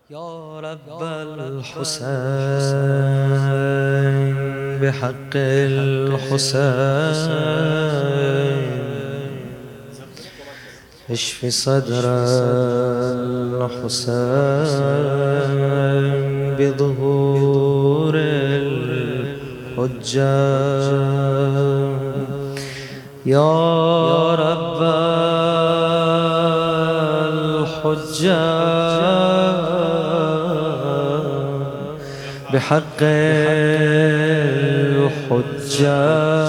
يا رب الحسين بحق الحسين اشف صدر الحسين بظهور الحجة يا رب الحجة بحق الحجة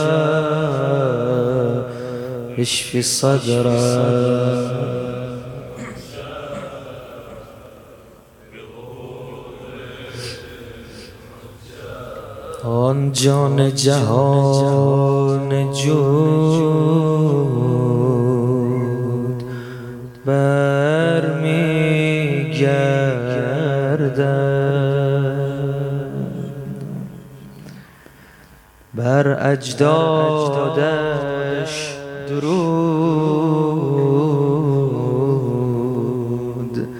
اشفي الصدر آن جان جهان جود برمیگردد بر اجدادش درود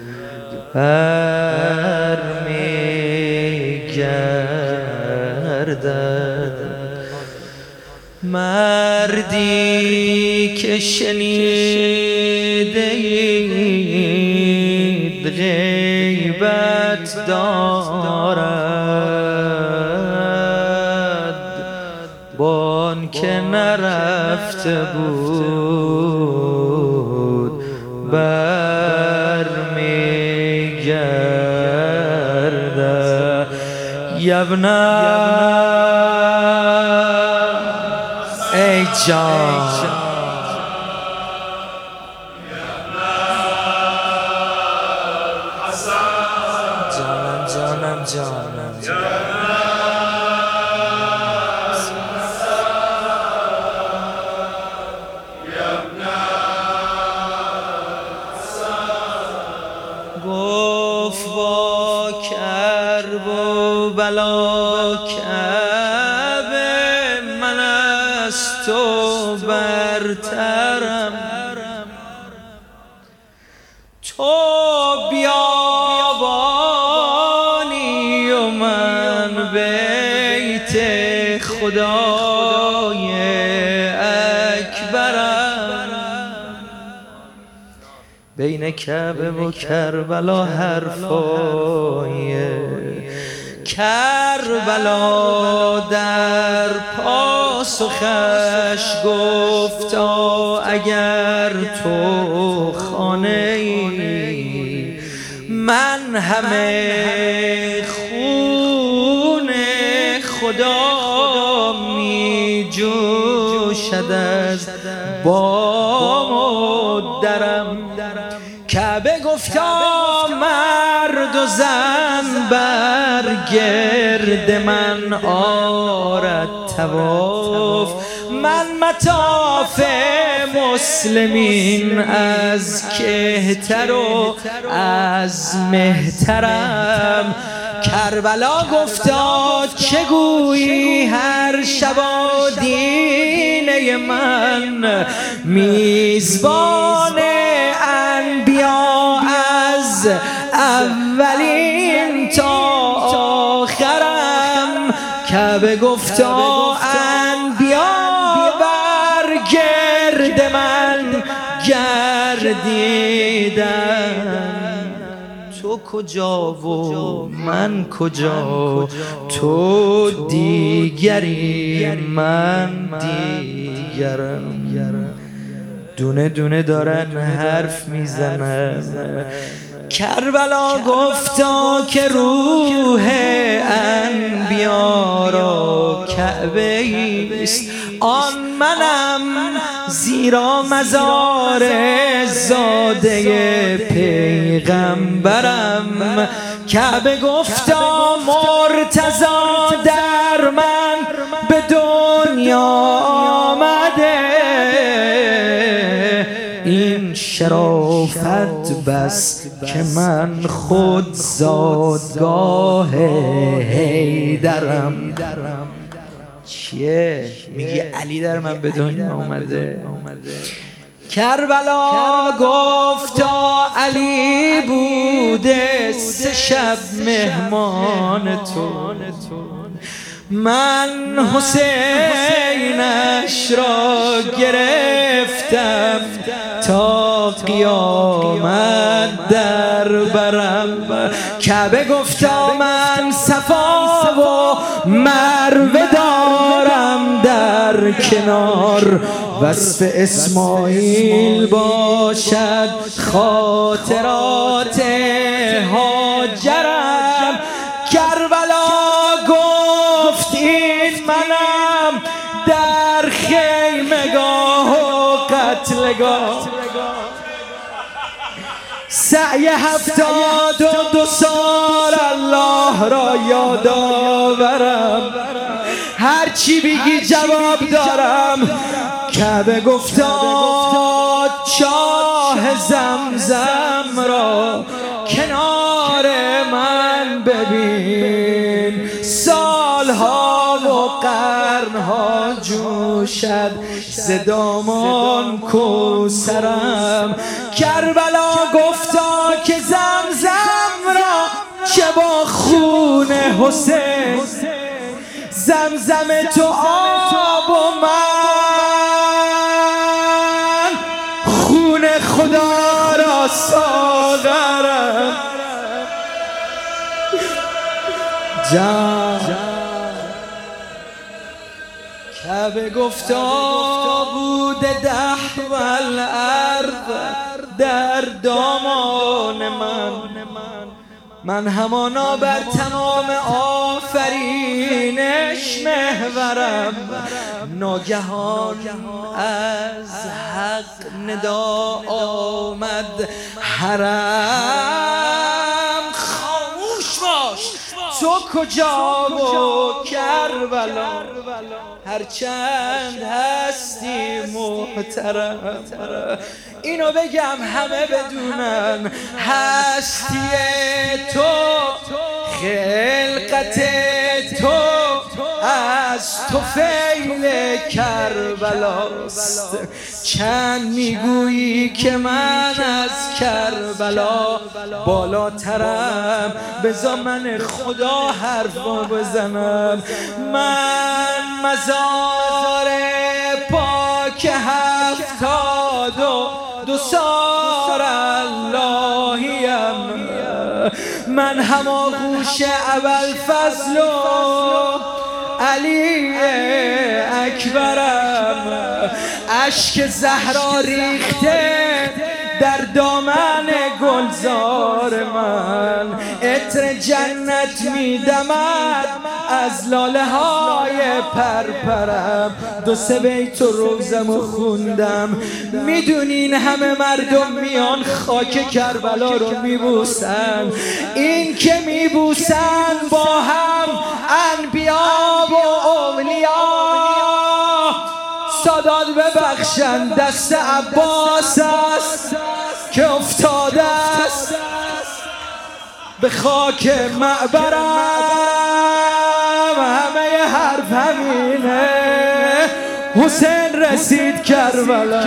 برمیگردد مردی که شنیده اید غیبت دارد بان که نرفته بود برمیگرده یبنا ای جان جانم گفت با کرب و بلا کعبه من از تو برترم تو بیابانی و من بیت خدای اکبرم بین کعبه و کربلا حرفای کربلا در پاسخش گفتا اگر تو خانه ای من همه خون خدا می جوشد از بام و درم کعبه گفتا مرد و زن بر گرد من آرد طواف من مطاف مسلمین از کهتر و از مهترم کربلا گفتا چه گویی هر شب دینه من میزبان انبیا از اولین تا آخرم کعبه گفتا انبیا بر گرد من گردیدن تو کجا و من کجا تو دیگری من دیگرم دونه دونه دارن حرف میزنن کربلا گفتا که روح انبیا را کعبه ایست آن منم زیرا مزار زاده پیغمبرم کعبه گفتا مرتضی در من به دنیا آمده این شرافت بس که من خود زادگاه حیدرم چیه؟ میگی علی در من به دنیا آمده کربلا گفتا علی بود بوده 3 شب مهمان تو، من حسینش را گرفتم تا قیامت در برم. کعبه گفتا من صفا و مروه دارم در کنار، وصف اسماعیل باشد خاطرات هاجرم. کربلا گفت این منم در خیمگاه و قتلگاه، سعی 72 سال الله را یاد آورم، هرچی بگی جواب دارم. کعبه گفتا چاه زمزم را کنار من ببین، سالها و قرنها جوشد ز دامان کوثرم. کربلا گفتا که زمزم را چه با خون حسین، زمزم تو آب و من خون خدا را ساغرم. کعبه گفتا بوده دحو الارض در دامان من همانا بر تمام آفرینش محورم. ناگهان از حق ندا آمد حرم، خاموش باش تو کجا و کربلا، هرچند هستی محترم. اینو بگم همه بدونن، هستی تو خلقت تو از طفیل کربلاست. چند میگویی که من از کربلا بالاترم، بذار من خدا حرفا بزنم. من مزار پاک 72 سال اللهیم، من هماغوش ابوالفضل و علی اکبرم. اشک زهرا ریخته در دامن گلزار من، عطر جنت میدمد از لاله های پرپرم. 2-3 بیت روزمو خوندم، میدونین همه مردم میان خاک کربلا رو میبوسن، این که میبوسن با هم انبیا و اولیا. سادات ببخشن دست عباس است که افتاده است به خاک معبرم. همه حرف همینه، حسین رسید کربلا،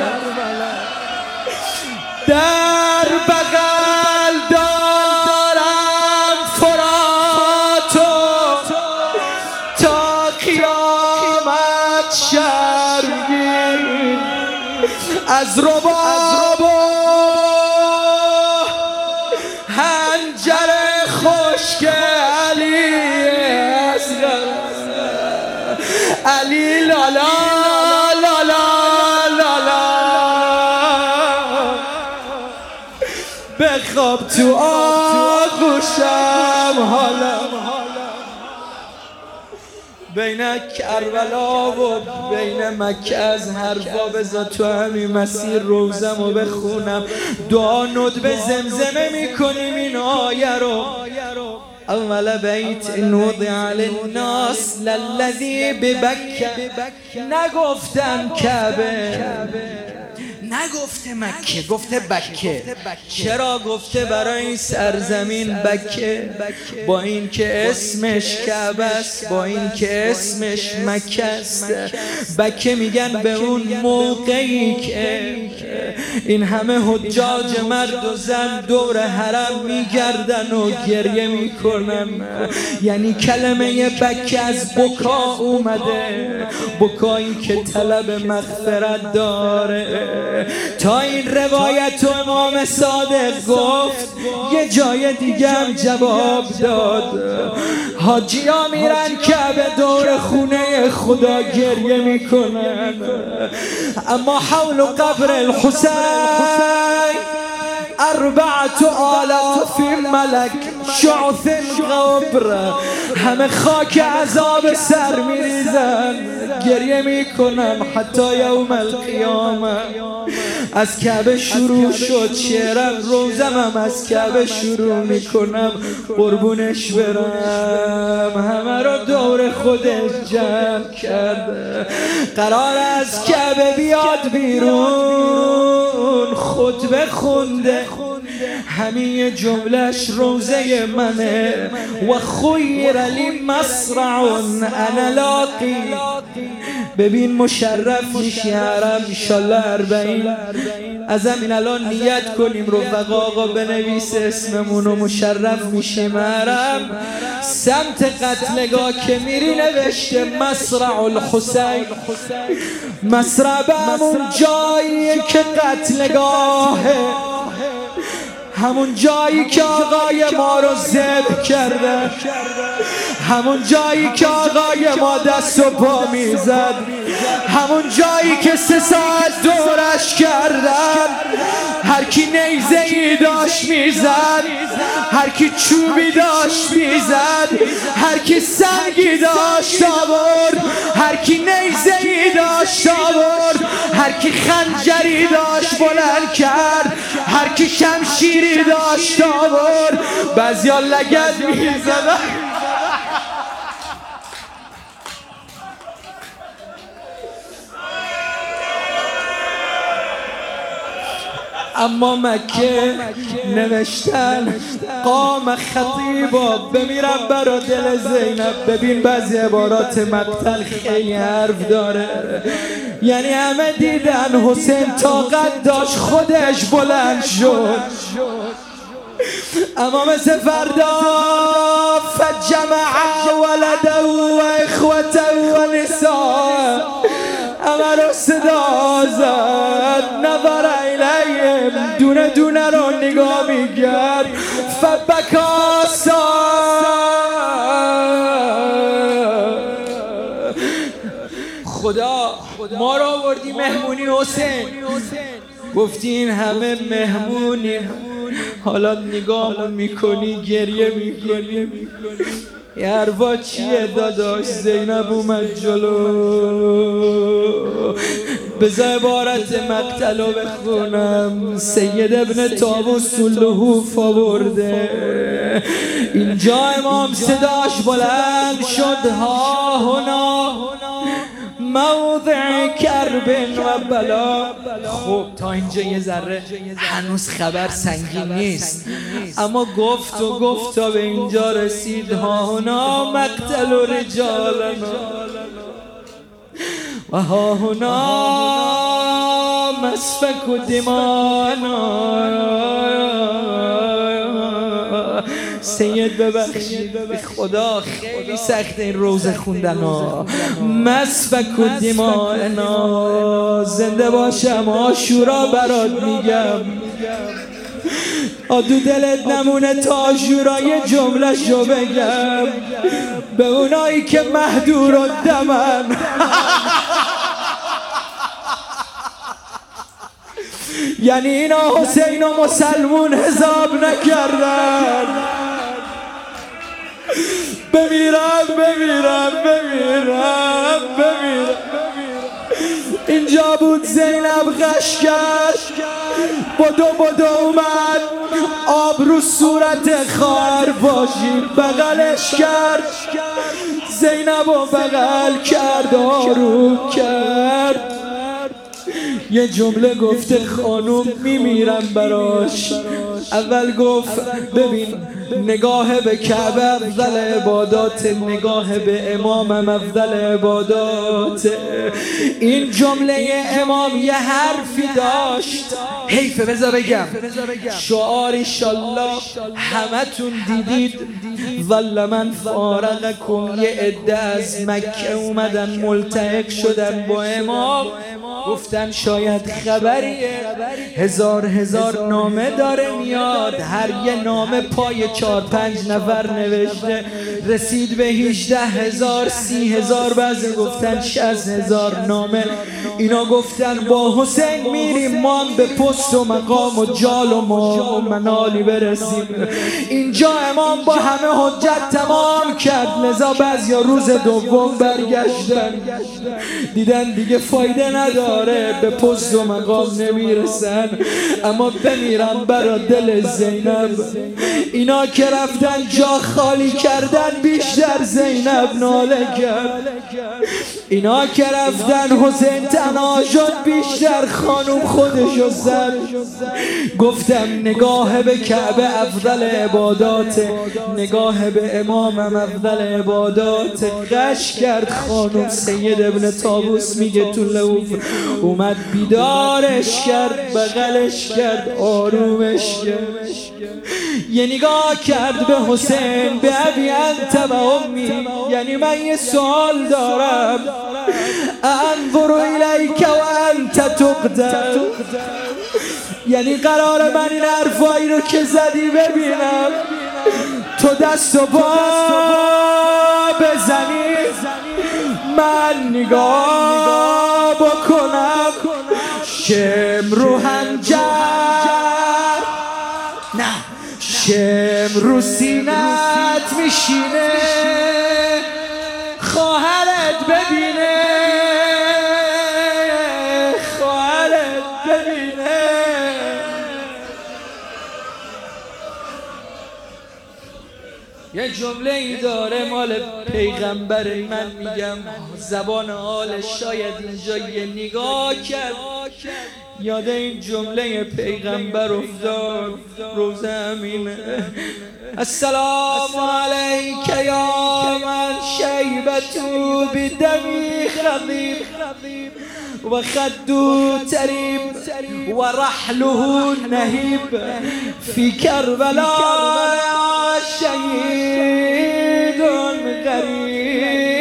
در بغل دارم فراتو تا قیامت شرمگین از رباب و حنجر خشک علی اصغر. علی لالا لالا لالا بخواب تو آغوشم حالا. بین کربلا و بین مکه از حرفا بذار تو همین مسیر روزمو بخونم. دعا ندبه زمزمه میکنیم این آیه رو. اول بیت وضع للناس للذی ببکه، نگفتن کعبه، نگفته مکه، گفته بکه. چرا گفته؟ برای این سرزمین بکه، با این که اسمش کعبه است، با این که اسمش مکه است. بکه میگن به اون موقعی که این همه حجاج مرد و زن دور حرم میگردن و گریه میکنن. یعنی کلمه بکه از بکا اومده، بکایی که طلب مغفرت داره. تا این روایت و امام صادق گفت یه جای دیگه هم جواب داد. حاجی ها میرن کعبه دور خونه خدا گریه میکنن، اما حول قبر الحسین 4000 ملک شعث قبر، همه خاک عذاب سر میریزن گریه میکنن حتی یوم القیامه. از کعبه شروع شد شعرم، روزم هم از کعبه شروع میکنم قربونش برم. همه رو دور خودش جمع کرده، قرار از کعبه بیاد بیرون خطبه خونده، همین جملهش روزه منه. و خیر لی مصرع انا لاقی. ببین مشرف میشی حرم انشالله 40. از همین الان نیت کنیم رفقا، آقا بنویس اسممون و مشرف میشیم حرم. سمت قتلگاه که میری نوشته مصرع الحسین. مصرع به همون جایی که قتلگاهه، همون جایی که آقای ما رو ذبح کرده، همون جایی که آقای ما دست و پا میزد، همون جایی که 3 ساعت دورش کردن. هر کی نیزه ای داشت میزد، هر کی چوبی داشت میزد، هر کی سنگی داشت آورد، هر کی نیزه ای داشت آورد، هر کی خنجری داشت بلند کرد، هر کی شمشیری داشت آورد. بعضیا لگد میزدن. اما مکه نوشتن قام خطیبا، بمیرم برا دل زینب. ببین بعضی عبارات مقتل خیلی حرف داره. یعنی همه دیدن حسین طاقت داشت خودش بلند شد، اما مثل فردا فجمع ولده و اخوته و نساء، همه رو صدا زد. نظر الیهم، دونه دونه رو نگاه میکرد. فبکا خدا ما رو آوردی مهمونی حسین، گفتی این همه مهمونی، حالا نگاه میکنی گریه میکنی. یه حرفا چیه داداش؟ زینب اومد جلو. بذار عبارت مقتلو بخونم. سید ابن طاووس لهوف آورده. اینجا امام صداش بلند شد ها هنا موضع کرب و بلا. خب تا اینجا یه ذره هنوز خبر سنگین نیست، اما گفت و گفت تا به اینجا رسید ها هنا مقتل و رجالنا و ها هنا مسفک و دمانا. سید ببخشید خدا خیلی سخت این روزه خوندن ها. مسفک و دمانا. زنده باشم عاشورا برات میگم، آدو دلت نمونه تا عاشورا یه جمله شو بگم به اونایی که مهدور و دمن. یعنی اینا حسین و مسلمون حساب نکردن. بمیرم بمیرم بمیرم بمیرم. اینجا بود زینب غش کرد، بدو اومد آب رو صورت خار باشی بغلش کرد. زینب و بغل کرد آروم کرد. یه جمله گفته خانوم میمیرم براش. اول گفت ببین نگاه به کعبه افضل عبادات، نگاه به امامم افضل عبادات. این جمله امام یه حرفی داشت، حیفه بذار بگم، شعار انشالله همتون دیدید. ولی من فارقکم، یه عده از مکه اومدن ملتحق شدن با امام، گفتن شاید خبریه، هزار نامه داره میاد، هر یه نامه پای 4-5 نفر نوشته، رسید به 18,000 30,000، بعضی گفتن 60,000 نامه. اینا گفتن با حسین میریم ما هم به پست و مقام و جال و منالی برسیم. اینجا امام با همه حجت تمام کرد، لذا بعضیا روز دوم برگشتن، دیدن دیگه فایده نداره، به پست و مقام نمیرسن، اما بمیرن برا دل زینب. اینا که رفتن جا خالی کردن، بیشتر زینب ناله کرد. اینا که رفتن حسین تنها شد، بیشتر خانوم خودشو زد. گفتم نگاه به کعبه افضل عبادات، نگاه به امامم افضل عبادات. قش کرد خانوم. سید ابن طاووس میگه تو لوف اومد بیدارش کرد، بغلش کرد، آرومش کرد، یه نگاه کرد به حسین، به ابی انت و امی، یعنی من یه سوال دارم، انظر الیک و انت تقتل، یعنی قرار من این حرفایی رو که زدی ببینم، تو دست و پا بزنی، من نگاه بکنم، شم رو هنجر، نه شم رو سینت میشینه، خواهرت ببینه، خواهرت ببینه. یه جمله ای داره مال پیغمبر، من میگم زبان حالش، شاید اینجا یه نگاه کرد یاد این جمله پیغمبر افتاد. روزه امینه، السلام علیک یا من شیبتو بدمی خضیب و خدو تریب و رحله نهیب فی کربلا شهید غریب.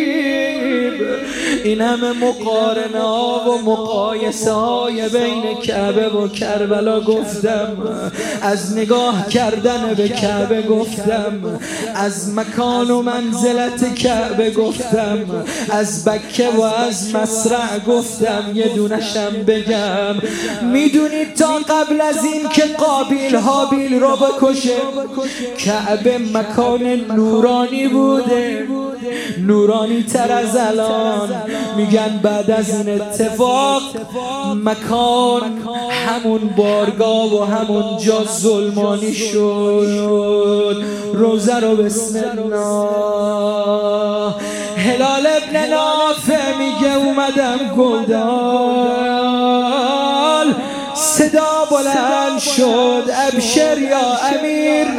این همه مقارنه ها و مقایسه های بین کعبه و کربلا گفتم، از نگاه کردن به کعبه گفتم، از مکان و منزلت کعبه گفتم، از بکه و از مصرع گفتم. یه دونشم بگم، میدونید تا قبل از این که قابیل حابیل رو بکشه، کعبه مکان نورانی بوده، نورانی تر از الان. میگن بعد از این اتفاق مکان همون بارگاه و همون جا ظلمانی شد. روزه رو بسم الله. هلال ابن نافع میگه اومدم گودال، صدا بلند شد ابشر یا امیر،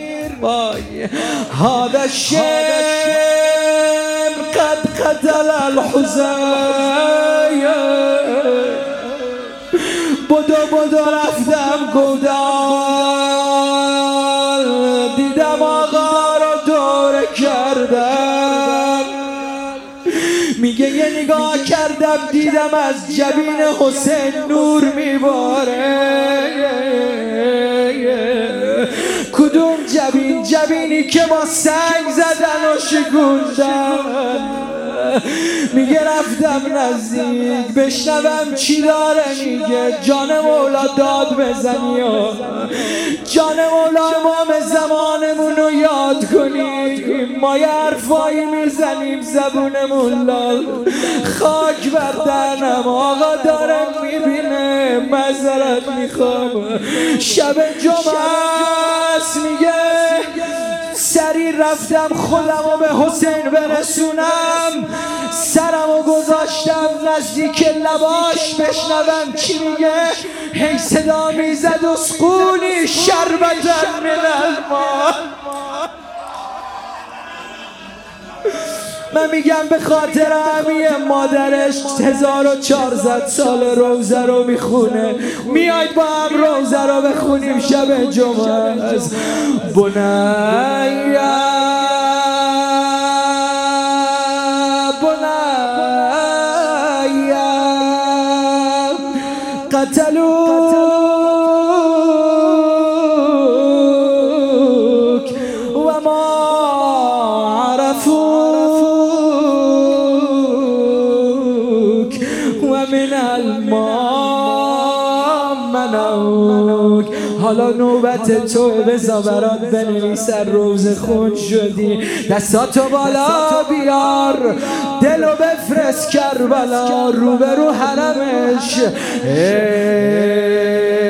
هذا الشم قد قتل الحسین. بدو رفتم گودال، دیدم آقا رو دوره کردم، میگه یه نگاه کردم دیدم از جبین حسین نور میباره. کدوم جبین؟ جبینی که با سنگ زدن و شکوندن. میگه رفتم نزدیک بشنوم چی داره میگه. جان مولا داد بزنی و جان مولا امام زمانمون رو یاد کنیم. ما یه حرفایی میزنیم زبونمون لال، خاک بردنم آقا دارم میبینه، معذرت میخوام شب جمعه است. میگه سری رفتم خودم رو به حسین برسونم، سرم رو گذاشتم نزدیک لباش بشنوم چی میگه. هی صدا میزد اسقونی شربتن من الماء. من میگم به خاطر همین مادرش 1400 سال روزه رو میخونه. میاید با هم روزه رو بخونیم شب جمعه است. بنیا قتلوك وما عرفوك ومن الماء منعوك. حالا نوبت تو، بذار برات بنویسن روزه خون شدی. دستاتو بالا بیار، دلو بفرست کربلا، روبرو حرمش.